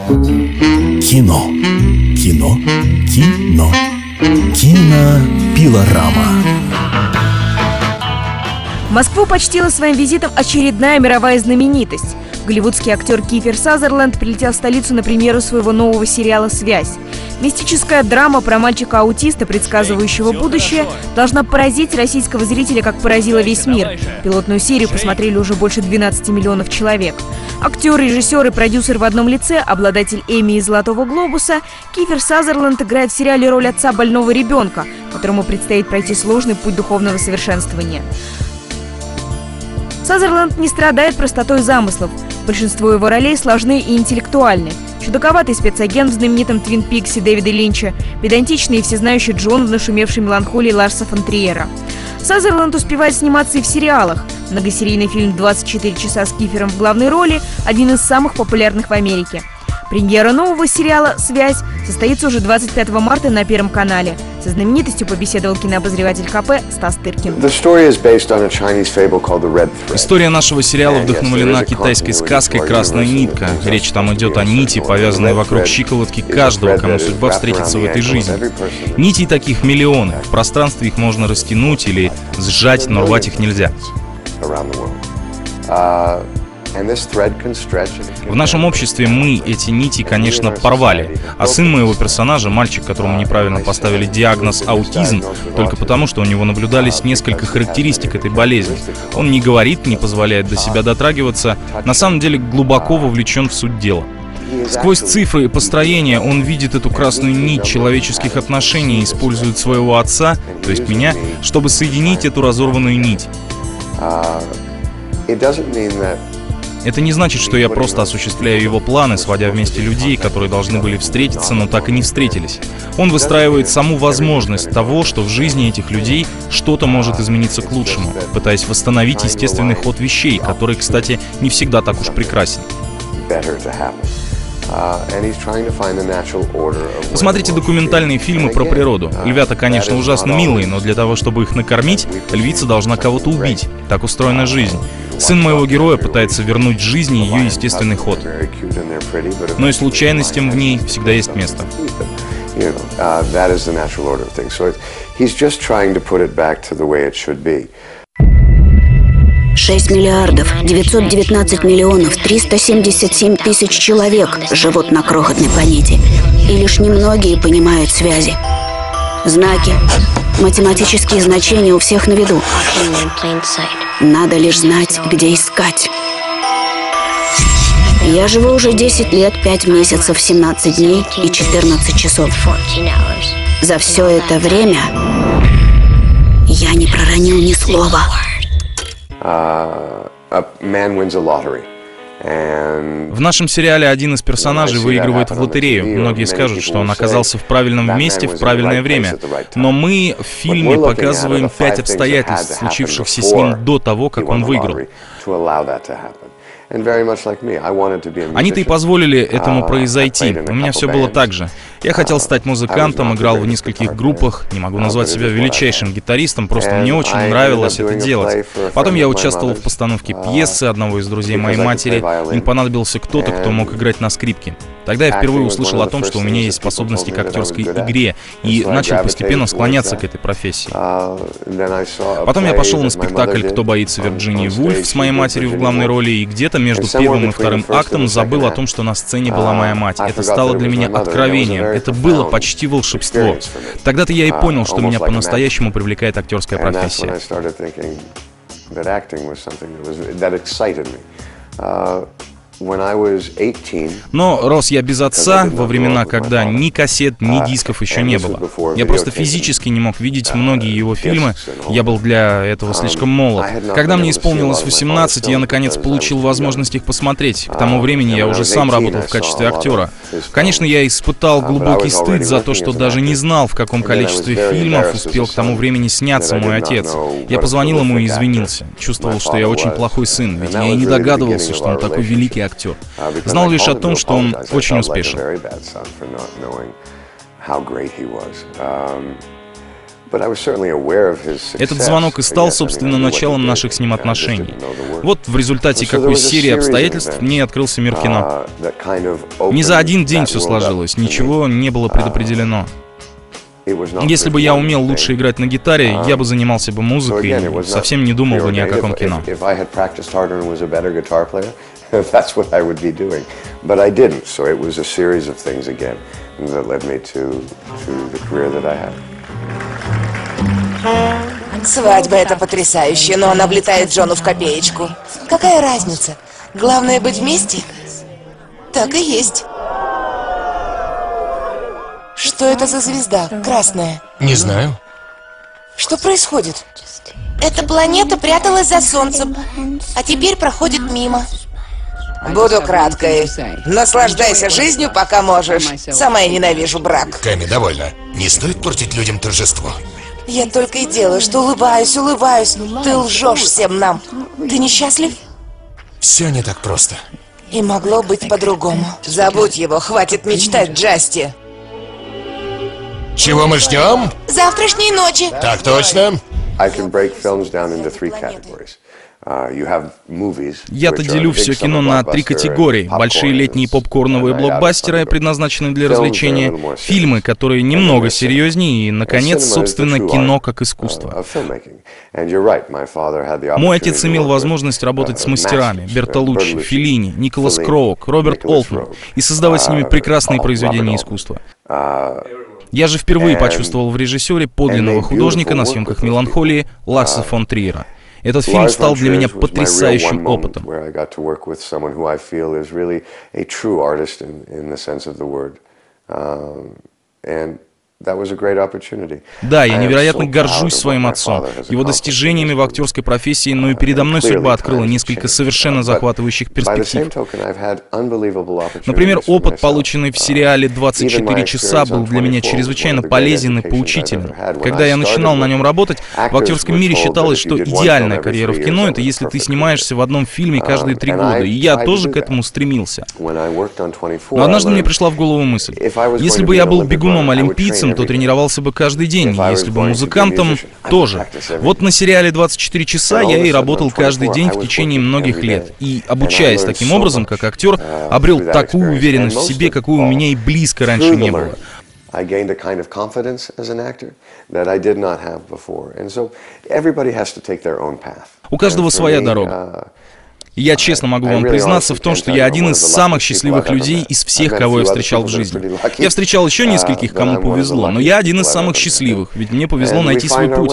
Кино. Кино. Кино. Кинопилорама. Москву почтила своим визитом очередная мировая знаменитость. Голливудский актер Кифер Сазерленд прилетел в столицу на премьеру своего нового сериала «Связь». Мистическая драма про мальчика-аутиста, предсказывающего будущее, должна поразить российского зрителя, как поразила весь мир. Пилотную серию посмотрели уже больше 12 миллионов человек. Актер, режиссер и продюсер в одном лице, обладатель Эмми и Золотого глобуса, Кифер Сазерленд играет в сериале роль отца больного ребенка, которому предстоит пройти сложный путь духовного совершенствования. Сазерленд не страдает простотой замыслов. Большинство его ролей сложны и интеллектуальны. Чудаковатый спецагент в знаменитом «Твин Пиксе» Дэвида Линча, педантичный и всезнающий Джон в нашумевшей меланхолии Ларса фон Триера. Сазерленд успевает сниматься и в сериалах. Многосерийный фильм «24 часа» с Кифером в главной роли – один из самых популярных в Америке. Премьера нового сериала «Связь» состоится уже 25 марта на Первом канале. Со знаменитостью побеседовал кинообозреватель КП Стас Тыркин. История нашего сериала вдохновлена китайской сказкой «Красная нитка». Речь там идет о нити, повязанной вокруг щиколотки каждого, кому судьба встретится в этой жизни. Нитей таких миллионы. В пространстве их можно растянуть или сжать, но рвать их нельзя. В нашем обществе мы эти нити, конечно, порвали. А сын моего персонажа, мальчик, которому неправильно поставили диагноз аутизм, только потому, что у него наблюдались несколько характеристик этой болезни. Он не говорит, не позволяет до себя дотрагиваться, на самом деле глубоко вовлечен в суть дела. Сквозь цифры и построения он видит эту красную нить человеческих отношений и использует своего отца, то есть меня, чтобы соединить эту разорванную нить. Это не значит, что я просто осуществляю его планы, сводя вместе людей, которые должны были встретиться, но так и не встретились. Он выстраивает саму возможность того, что в жизни этих людей что-то может измениться к лучшему, пытаясь восстановить естественный ход вещей, который, кстати, не всегда так уж прекрасен. Посмотрите документальные фильмы про природу. Львята, конечно, ужасно милые, но для того, чтобы их накормить, львица должна кого-то убить. Так устроена жизнь. Сын моего героя пытается вернуть жизни ее естественный ход. Но и случайностям в ней всегда есть место. 6 миллиардов 919 миллионов 377 тысяч человек живут на крохотной планете, и лишь немногие понимают связи. Знаки, математические значения у всех на виду. Надо лишь знать, где искать. Я живу уже 10 лет, 5 месяцев, 17 дней и 14 часов. За все это время я не проронил ни слова. В нашем сериале один из персонажей выигрывает в лотерею. Многие скажут, что он оказался в правильном месте в правильное время. Но мы в фильме показываем 5 обстоятельств, случившихся с ним до того, как он выиграл. Они-то и позволили этому произойти. У меня все было так же. Я хотел стать музыкантом, играл в нескольких группах. Не могу назвать себя величайшим гитаристом, просто мне очень нравилось это делать. Потом я участвовал в постановке пьесы одного из друзей моей матери. Им понадобился кто-то, кто мог играть на скрипке. Тогда я впервые услышал о том, что у меня есть способности к актерской игре, и начал постепенно склоняться к этой профессии. Потом я пошел на спектакль «Кто боится Вирджинии Вульф» с моей матерью в главной роли, и где-то между первым и вторым актом забыл о том, что на сцене была моя мать. Это стало для меня откровением. Это было почти волшебство. Тогда-то я и понял, что меня по-настоящему привлекает актерская профессия. Но рос я без отца во времена, когда ни кассет, ни дисков еще не было. Я просто физически не мог видеть многие его фильмы, я был для этого слишком молод. Когда мне исполнилось 18, я наконец получил возможность их посмотреть. К тому времени я уже сам работал в качестве актера. Конечно, я испытал глубокий стыд за то, что даже не знал, в каком количестве фильмов успел к тому времени сняться мой отец. Я позвонил ему и извинился. Чувствовал, что я очень плохой сын, ведь я и не догадывался, что он такой великий актер. Знал лишь о том, что он очень успешен. Этот звонок и стал, собственно, началом наших с ним отношений. Вот в результате какой серии обстоятельств мне открылся мир кино. Не за один день все сложилось, ничего не было предопределено. Если бы я умел лучше играть на гитаре, я бы занимался бы музыкой и совсем не думал бы ни о каком кино. Свадьба — это потрясающе, но она влетает Джону в копеечку. Какая разница? Главное быть вместе? Так и есть. Что это за звезда? Красная. Не знаю. Что происходит? Эта планета пряталась за Солнцем, а теперь проходит мимо. Буду краткой. Наслаждайся жизнью, пока можешь. Сама я ненавижу брак. Кэми, довольно. Не стоит портить людям торжество. Я только и делаю, что улыбаюсь. Ты лжешь всем нам. Ты несчастлив? Все не так просто. И могло быть по-другому. Забудь его, хватит мечтать, Джасти. Чего мы ждем? Завтрашней ночи. Так точно. Я-то делю все кино на 3 категории. Большие летние попкорновые блокбастеры, предназначенные для развлечения, фильмы, которые немного серьезнее, и, наконец, собственно, кино как искусство. Мой отец имел возможность работать с мастерами Бертолуччи, Феллини, Николас Кроук, Роберт Олтман и создавать с ними прекрасные произведения искусства. Я же впервые почувствовал в режиссере подлинного художника на съемках «Меланхолии» Ларса фон Триера. Этот фильм стал для меня потрясающим опытом. Да, я невероятно горжусь своим отцом, его достижениями в актерской профессии, но и передо мной судьба открыла несколько совершенно захватывающих перспектив. Например, опыт, полученный в сериале «24 часа», был для меня чрезвычайно полезен и поучителен. Когда я начинал на нем работать, в актерском мире считалось, что идеальная карьера в кино — это если ты снимаешься в одном фильме каждые 3 года, и я тоже к этому стремился. Но однажды мне пришла в голову мысль: если бы я был бегуном-олимпийцем, то тренировался бы каждый день, если бы музыкантом, тоже. Вот на сериале «24 часа» я и работал каждый день в течение многих лет. И, обучаясь таким образом, как актер, обрел такую уверенность в себе, какой у меня и близко раньше не было. У каждого своя дорога. И я честно могу вам признаться в том, что я один из самых счастливых людей из всех, кого я встречал в жизни. Я встречал еще нескольких, кому повезло, но я один из самых счастливых, ведь мне повезло найти свой путь.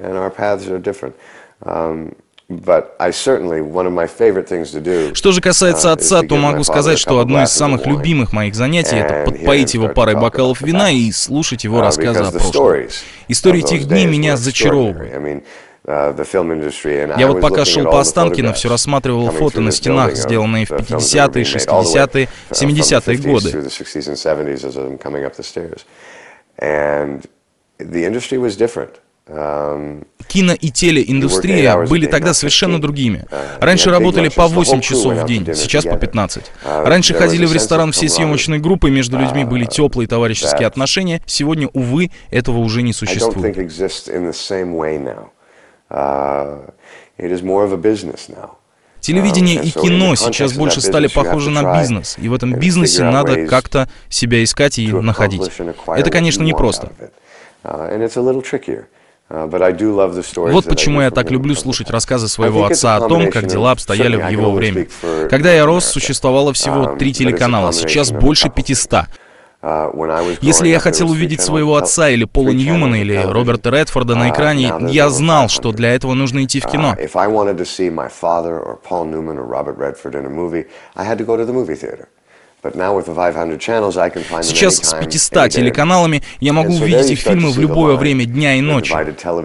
Что же касается отца, то могу сказать, что одно из самых любимых моих занятий — это подпоить его парой бокалов вина и слушать его рассказы о прошлом. Истории тех дней меня зачаровывают. Я вот пока шел по Останкино, все рассматривал фото на стенах, сделанные в 50-е, 60-е, 70-е годы. Кино- и телеиндустрия были тогда совершенно другими. Раньше работали по 8 часов в день, сейчас по 15. Раньше ходили в ресторан всей съемочной группой, между людьми были теплые товарищеские отношения. Сегодня, увы, этого уже не существует. Телевидение и кино сейчас больше стали похожи на бизнес, и в этом бизнесе надо как-то себя искать и находить. Это, конечно, непросто. Вот почему я так люблю слушать рассказы своего отца о том, как дела обстояли в его время. Когда я рос, существовало всего 3 телеканала, сейчас больше 500. Если я хотел увидеть своего отца или Пола Ньюмана или Роберта Редфорда на экране, я знал, что для этого нужно идти в кино. Сейчас с 500 телеканалами я могу увидеть их фильмы в любое время дня и ночи.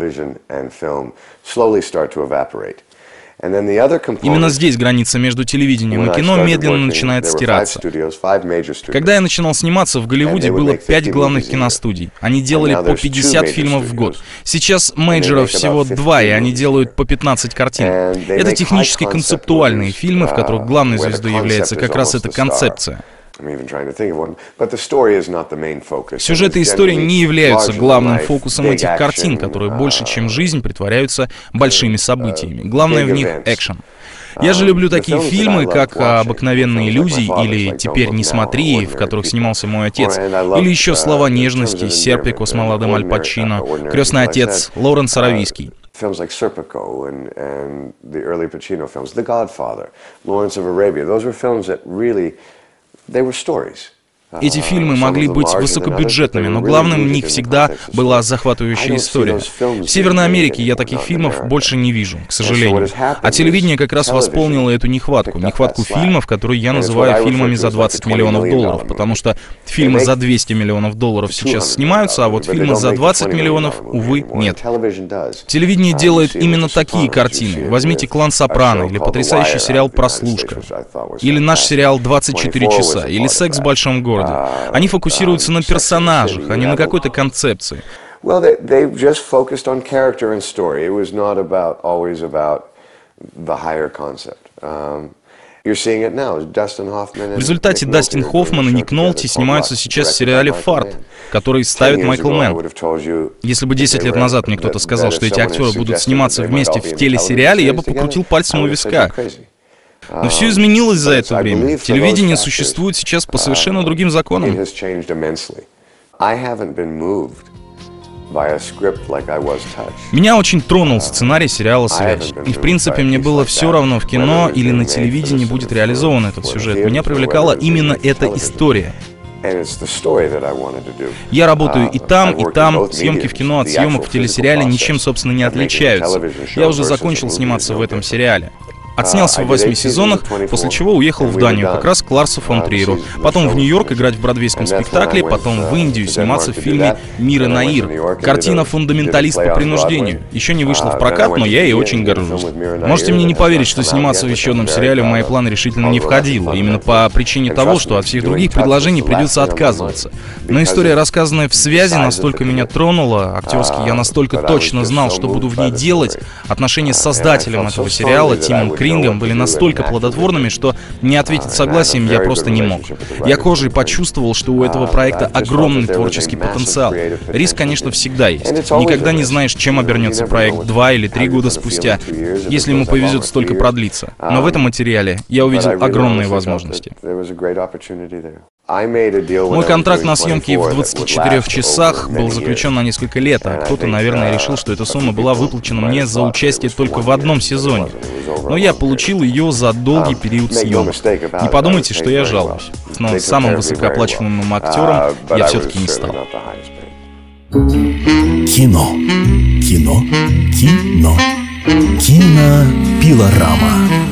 Именно здесь граница между телевидением и кино медленно начинает стираться. Когда я начинал сниматься, в Голливуде было 5 главных киностудий. Они делали по 50 фильмов в год. Сейчас мейджоров всего 2, и они делают по 15 картин. Это технически концептуальные фильмы, в которых главной звездой является как раз эта концепция. Сюжеты истории не являются главным фокусом этих картин, которые больше, чем жизнь, притворяются большими событиями. Главное в них — экшен. Я же люблю такие фильмы, как «Обыкновенные иллюзии» или «Теперь не смотри», в которых снимался мой отец, или еще «Слова нежности», «Серпико» с молодым Аль Пачино, «Крестный отец», Лоуренс Аравийский. Films like Serpico and the early Pacino films, The Godfather, Lawrence of Arabia, those were films that really, they were stories. Эти фильмы могли быть высокобюджетными, но главным в них всегда была захватывающая история. В Северной Америке я таких фильмов больше не вижу, к сожалению. А телевидение как раз восполнило эту нехватку фильмов, которые я называю фильмами за $20 миллионов, потому что фильмы за $200 миллионов сейчас снимаются, а вот фильмы за $20 миллионов, увы, нет. Телевидение делает именно такие картины. Возьмите «Клан Сопрано» или потрясающий сериал «Прослушка», или наш сериал «24 часа», или «Секс в большом городе». Они фокусируются на персонажах, а не на какой-то концепции. В результате Дастин Хоффман и Ник Нолти снимаются сейчас в сериале «Фарт», который ставит Майкл Мэнн. Если бы 10 лет назад мне кто-то сказал, что эти актеры будут сниматься вместе в телесериале, я бы покрутил пальцем у виска. Но все изменилось за это время. Телевидение существует сейчас по совершенно другим законам. Меня очень тронул сценарий сериала «Связь». И, в принципе, мне было все равно, в кино или на телевидении будет реализован этот сюжет. Меня привлекала именно эта история. Я работаю и там. Съемки в кино от съемок в телесериале ничем, собственно, не отличаются. Я уже закончил сниматься в этом сериале. Отснялся в 8 сезонах, после чего уехал в Данию, как раз к Ларсу фон Триеру. Потом в Нью-Йорк играть в бродвейском спектакле, потом в Индию сниматься в фильме «Мир и Наир». Картина «Фундаменталист по принуждению». Еще не вышла в прокат, но я ей очень горжусь. Можете мне не поверить, что сниматься в еще одном сериале в мои планы решительно не входило. Именно по причине того, что от всех других предложений придется отказываться. Но история, рассказанная в «Связи», настолько меня тронула, актерски я настолько точно знал, что буду в ней делать. Отношения с создателем этого сериала, Тимом Крингом, были настолько плодотворными, что не ответить согласием я просто не мог. Я кожей почувствовал, что у этого проекта огромный творческий потенциал. Риск, конечно, всегда есть. Никогда не знаешь, чем обернется проект 2 или 3 года спустя, если ему повезет столько продлиться. Но в этом материале я увидел огромные возможности. Мой контракт на съемки в 24 часах был заключен на несколько лет, а кто-то, наверное, решил, что эта сумма была выплачена мне за участие только в одном сезоне. Но я получил ее за долгий период съемок. Не подумайте, что я жалуюсь. Но самым высокооплачиваемым актером я все-таки не стал. Кино. Кино. Кино. Кинопилорама.